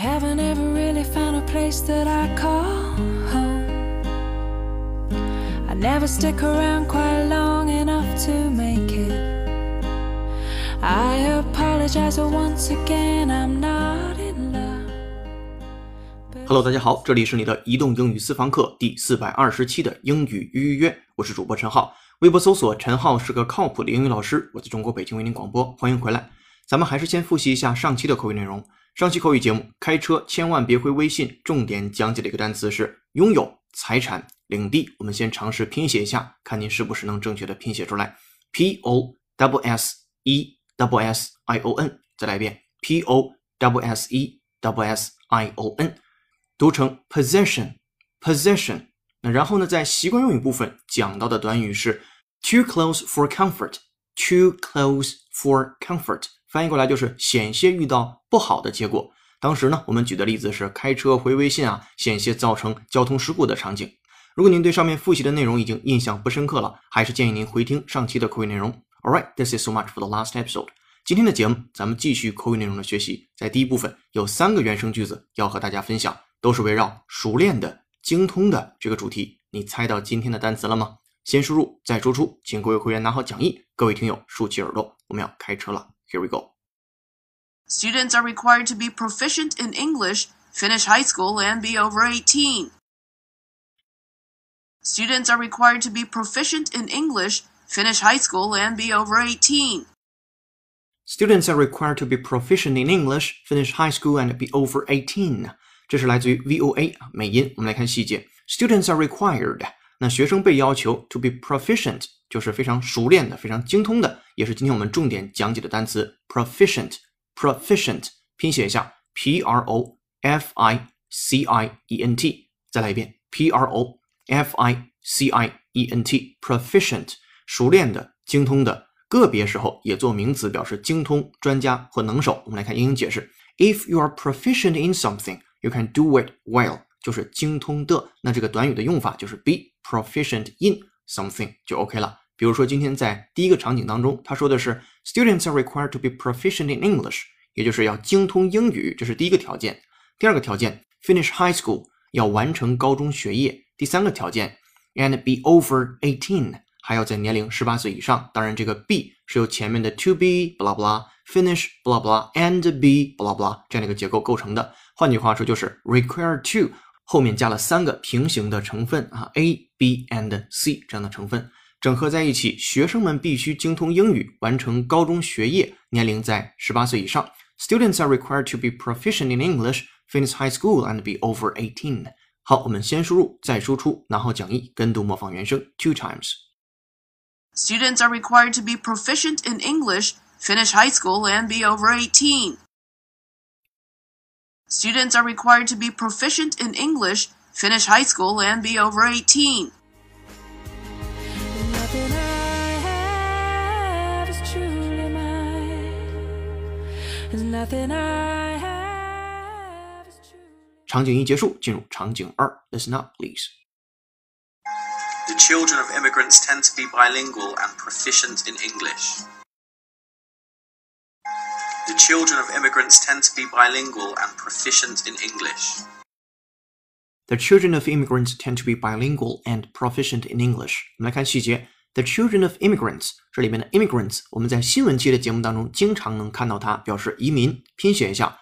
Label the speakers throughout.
Speaker 1: haven't ever really found a place that I call home. I never stick around quite long enough to make it. I apologize once again, I'm not in love.
Speaker 2: Hello， 大家好，这里是你的移动英语私房课第420期的英语预约，我是主播陈浩，微博搜索陈浩是个靠谱的英语老师，我在中国北京为您广播，欢迎回来。咱们还是先复习一下上期的口语内容。上期口语节目开车千万别回微信，重点讲解的一个单词是拥有、财产、领地。我们先尝试拼写一下，看您是不是能正确的拼写出来。POSSESSION， 再来一遍 POSSESSION， 读成 possession。 那然后呢，在习惯用语部分讲到的短语是 too close for comfort， too close for comfort， 翻译过来就是险些遇到不好的结果。当时呢，我们举的例子是开车回微信险些造成交通事故的场景。如果您对上面复习的内容已经印象不深刻了，还是建议您回听上期的口语内容。Alright, this is so much for the last episode. 今天的节目咱们继续口语内容的学习，在第一部分有3个原声句子要和大家分享，都是围绕熟练的、精通的这个主题。你猜到今天的单词了吗？先输入再输出，请各位会员拿好讲义，各位听友竖起耳朵，我们要开车了。Here we go.
Speaker 3: Students are required to be proficient in English, finish high school, and be over 18. Students are required to be proficient in English, finish high school, and be over 18.
Speaker 2: Students are required to be proficient in English, finish high school, and be over 18. 这是来自于 VOA 美音，我们来看细节。Students are required， 那学生被要求 to be proficient， 就是非常熟练的、非常精通的，也是今天我们重点讲解的单词 proficient。拼写一下 PROFICIENT， 再来一遍 PROFICIENT， proficient， 熟练的、精通的，个别时候也做名词表示精通、专家或能手。我们来看英英解释 If you are proficient in something, you can do it well， 就是精通的。那这个短语的用法就是 be proficient in something 就 OK 了。比如说今天在第一个场景当中，他说的是 Students are required to be proficient in English， 也就是要精通英语，这是第一个条件。第二个条件 finish high school， 要完成高中学业。第三个条件 and be over 18， 还要在年龄18岁以上。当然这个 be 是由前面的 to be blah blah finish blah blah and be blah blah 这样的一个结构构成的。换句话说就是 required to 后面加了3个平行的成分A, B and C 这样的成分整合在一起，学生们必须精通英语，完成高中学业，年龄在18岁以上。Students are required to be proficient in English, finish high school, and be over 18. 好，我们先输入，再输出，拿好讲义，跟读模仿原声 2 times.
Speaker 3: Students are required to be proficient in English, finish high school, and be over 18. Students are required to be proficient in English, finish high school, and be over
Speaker 1: 18.Nothing I have is truly mine. There's nothing I have is truly.
Speaker 2: 场景1结束，进入场景2 Listen up, please.
Speaker 4: The children of immigrants tend to be bilingual and proficient in English. The children of immigrants tend to be bilingual and proficient in English.
Speaker 2: The children of immigrants tend to be bilingual and proficient in English. 我们来看细节。The children of immigrants， 这里面的 immigrants， 我们在新闻期的节目当中经常能看到它，表示移民。拼写一下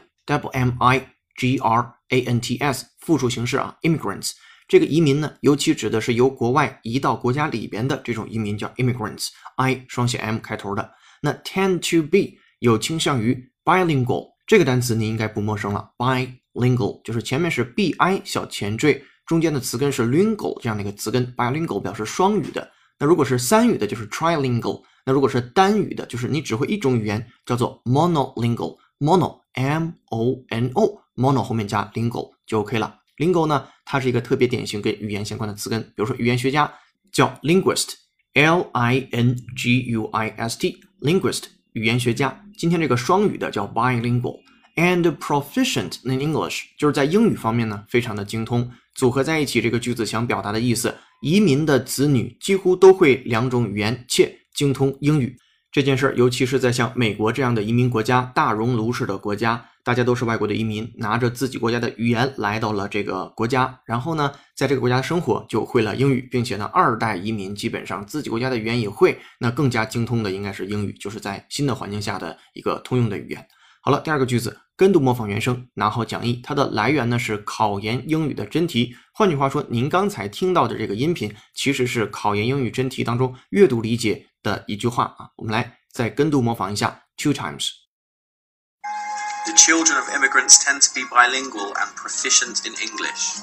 Speaker 2: IMMIGRANTS， 复数形式immigrants。这个移民呢，尤其指的是由国外移到国家里边的这种移民叫 immigrants， I 双写 M 开头的。那 tend to be 有倾向于 bilingual， 这个单词你应该不陌生了 bilingual 就是前面是 bi 小前缀，中间的词根是 lingual 这样的一个词根 bilingual 表示双语的。那如果是3语的就是 trilingual， 那如果是单语的就是你只会一种语言叫做 monolingual， mono M-O-N-O mono 后面加 lingual 就 OK 了。lingual 呢，它是一个特别典型跟语言相关的词根，比如说语言学家叫 linguist L-I-N-G-U-I-S-T linguist 语言学家。今天这个双语的叫 bilingual and proficient in English 就是在英语方面呢非常的精通。组合在一起这个句子想表达的意思，移民的子女几乎都会2种语言且精通英语。 这件事尤其是在像美国这样的移民国家，大熔炉式的国家，大家都是外国的移民，拿着自己国家的语言来到了这个国家，然后呢在这个国家生活就会了英语，并且呢二代移民基本上自己国家的语言也会，那更加精通的应该是英语，就是在新的环境下的一个通用的语言。好了，第二个句子，跟读模仿原声，拿好讲义。它的来源呢是考研英语的真题，换句话说，您刚才听到的这个音频其实是考研英语真题当中阅读理解的一句话啊。我们来再跟读模仿一下 two times.
Speaker 4: The children of immigrants tend to be bilingual and proficient in English.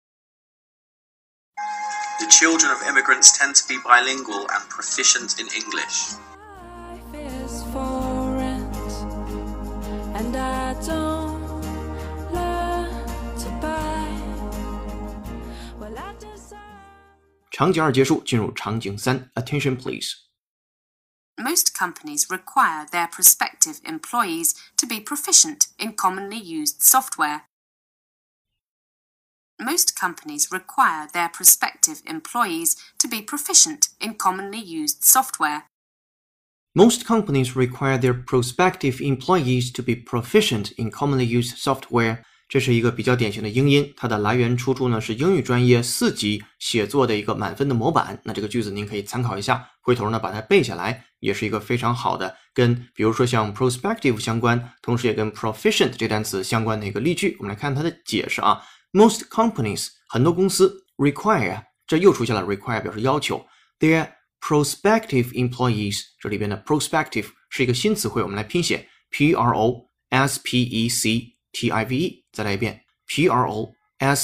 Speaker 4: The children of immigrants tend to be bilingual and proficient in English.
Speaker 1: Life is for rent, and I don't learn to buy. Well, I decide.
Speaker 2: 场景2结束，进入场景3 Attention please.Most
Speaker 3: companies require their prospective employees to be proficient in commonly used software. Most companies require their prospective employees to be proficient in commonly used software.
Speaker 2: Most companies require their prospective employees to be proficient in commonly used software. 这是一个比较典型的英音，它的来源出处呢是英语专业4级写作的一个满分的模板。那这个句子您可以参考一下，回头呢把它背下来，也是一个非常好的跟比如说像 prospective 相关，同时也跟 proficient 这单词相关的一个例句。我们来看它的解释啊。Most companies 很多公司 require 这又出现了 require 表示要求 their prospective employees 这里边的 prospective 是一个新词汇，我们来拼写 prospective 再来一遍 prospective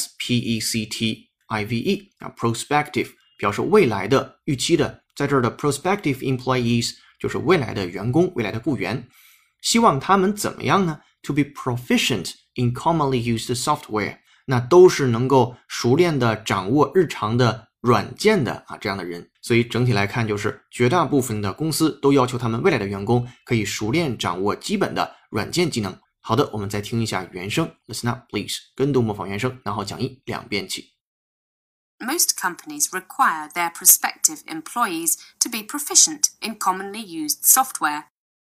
Speaker 2: 啊 prospective 表示未来的预期的，在这儿的 prospective employees 就是未来的员工，未来的雇员，希望他们怎么样呢？ To be proficient in commonly used software 那都是能够熟练的掌握日常的软件的啊这样的人，所以整体来看就是绝大部分的公司都要求他们未来的员工可以熟练掌握基本的软件技能。好的，我们再听一下原声 Listen up please 跟读模仿原声，然后讲义2遍起。
Speaker 3: Most companies require their prospective employees to be proficient in commonly used software.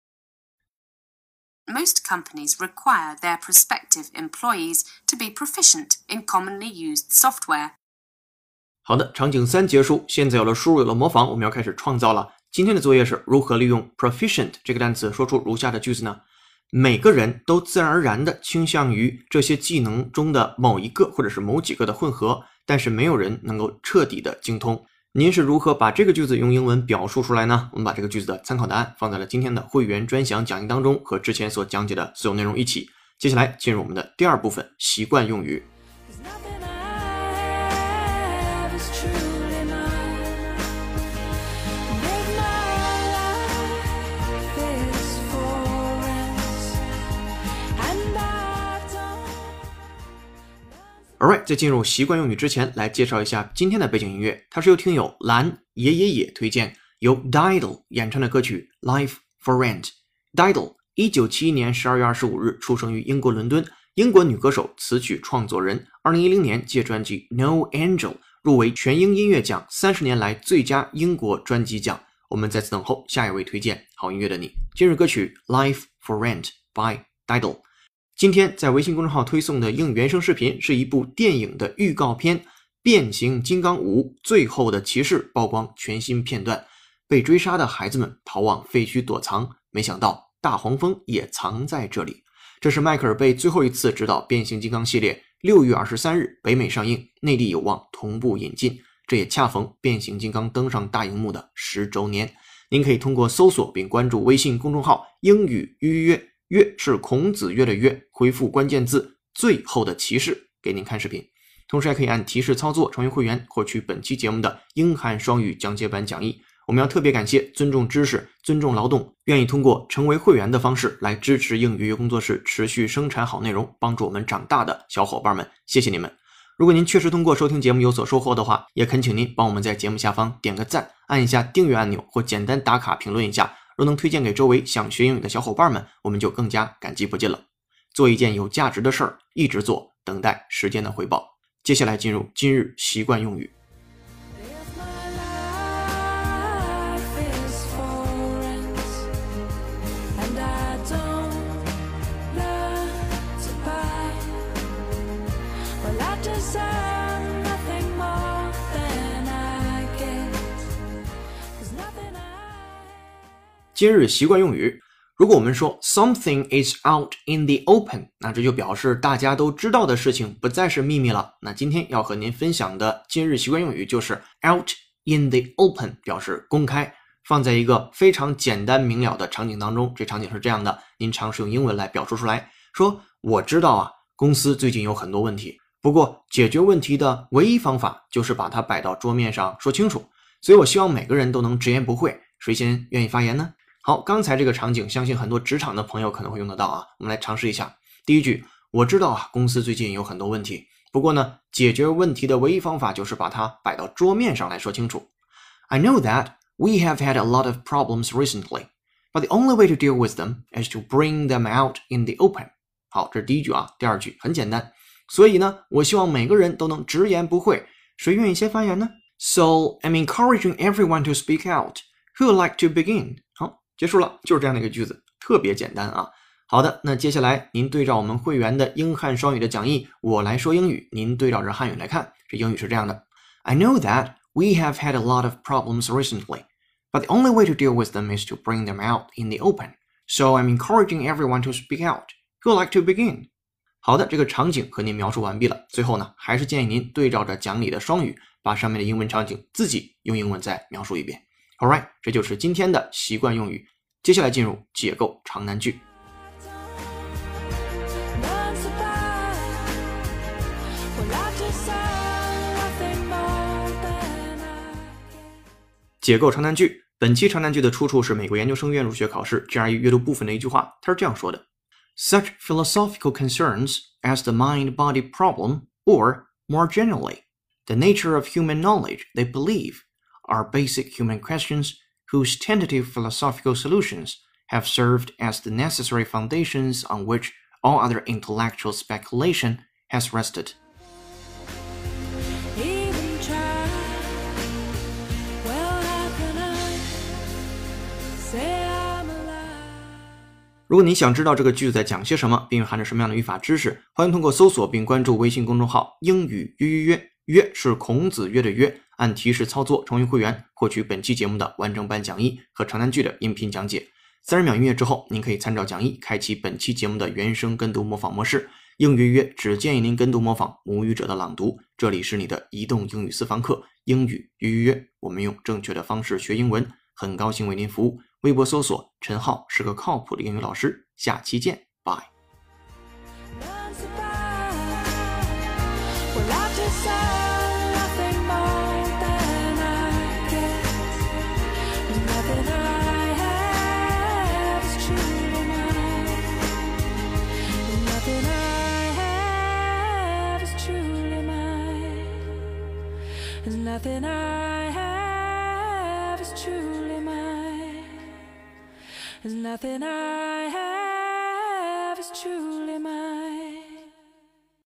Speaker 3: Most companies require their prospective employees to be proficient in commonly used software.
Speaker 2: 好的，场景3结束，现在有了输入有了模仿，我们要开始创造了。今天的作业是如何利用 proficient 这个单词说出如下的句子呢？每个人都自然而然地倾向于这些技能中的某一个或者是某几个的混合，但是没有人能够彻底的精通。您是如何把这个句子用英文表述出来呢？我们把这个句子的参考答案放在了今天的会员专享讲义当中，和之前所讲解的所有内容一起。接下来进入我们的第2部分习惯用语。Alright， 在进入习惯用语之前，来介绍一下今天的背景音乐，它是由听友蓝野野野推荐，由 Diddle 演唱的歌曲 Life for Rent。Diddle 1971年12月25日出生于英国伦敦，英国女歌手、词曲创作人。2010年借专辑 No Angel 入围全英音乐奖30年来最佳英国专辑奖。我们在此等候下一位推荐好音乐的你。今日歌曲 Life for Rent by Diddle。今天在微信公众号推送的英语原声视频是一部电影的预告片，变形金刚5最后的骑士曝光全新片段，被追杀的孩子们逃往废墟躲藏，没想到大黄蜂也藏在这里。这是迈克尔贝最后一次执导变形金刚系列，6月23日北美上映，内地有望同步引进，这也恰逢变形金刚登上大荧幕的10周年。您可以通过搜索并关注微信公众号英语预约，约是孔子约的约，回复关键字最后的骑士给您看视频，同时还可以按提示操作成为会员，获取本期节目的英汉双语讲解版讲义。我们要特别感谢尊重知识、尊重劳动，愿意通过成为会员的方式来支持英语工作室持续生产好内容，帮助我们长大的小伙伴们，谢谢你们。如果您确实通过收听节目有所收获的话，也恳请您帮我们在节目下方点个赞，按一下订阅按钮，或简单打卡评论一下。若能推荐给周围想学英语的小伙伴们，我们就更加感激不尽了。做一件有价值的事儿，一直做，等待时间的回报。接下来进入今日习惯用语。
Speaker 1: deserve nothing more than I get. There's nothing I
Speaker 2: 今日习惯用语，如果我们说 something is out in the open， 那这就表示大家都知道的事情不再是秘密了。那今天要和您分享的今日习惯用语就是 out in the open， 表示公开，放在一个非常简单明了的场景当中。这场景是这样的，您尝试用英文来表述出来，说我知道啊，公司最近有很多问题，不过解决问题的唯一方法就是把它摆到桌面上说清楚，所以我希望每个人都能直言不讳。谁先愿意发言呢？好，刚才这个场景相信很多职场的朋友可能会用得到啊，我们来尝试一下。第一句，我知道啊，公司最近有很多问题，不过呢，解决问题的唯一方法就是把它摆到桌面上来说清楚。I know that we have had a lot of problems recently, but the only way to deal with them is to bring them out in the open. 好，这是第一句啊，第二句很简单。所以呢，我希望每个人都能直言不讳。谁愿意先发言呢？ So I'm encouraging everyone to speak out. Who would like to begin? 好，结束了，就是这样的一个句子，特别简单啊。好的，那接下来您对照我们会员的英汉双语的讲义，我来说英语，您对照着汉语来看。这英语是这样的 I know that we have had a lot of problems recently, but the only way to deal with them is to bring them out in the open. So I'm encouraging everyone to speak out. Who would like to begin? 好的，这个场景和您描述完毕了。最后呢，还是建议您对照着讲里的双语，把上面的英文场景自己用英文再描述一遍。Alright， 这就是今天的习惯用语。接下来进入解构长难句。
Speaker 1: learn to buy. Well, I deserve nothing more than I get.
Speaker 2: 解构长难句，本期长难句的出处是美国研究生院入学考试 GRE 阅读部分的一句话，它是这样说的 Such philosophical concerns as the mind-body problem, or, more generally, the nature of human knowledge they believe, are basic human questions whose tentative philosophical solutions have served as the necessary foundations on which all other intellectual speculation has rested.
Speaker 1: Even try. Well, how can I say I'm alive?
Speaker 2: 如果你想知道这个句子在讲些什么，并蕴含着什么样的语法知识，欢迎通过搜索并关注微信公众号英语约约约，约是孔子约的约，按提示操作成为会员，获取本期节目的完整版讲义和长难句的音频讲解。30秒音乐之后，您可以参照讲义开启本期节目的原声跟读模仿模式。英语约只建议您跟读模仿母语者的朗读。这里是你的移动英语私房课英语约约约，我们用正确的方式学英文，很高兴为您服务。微博搜索陈浩是个靠谱的英语老师，下期见，拜。
Speaker 1: Learn to buy. Well, I deserve nothing more than I get. There's nothing I have is truly mine. There's nothing I have is truly mine. There's nothing I have is truly mine. There's nothing I have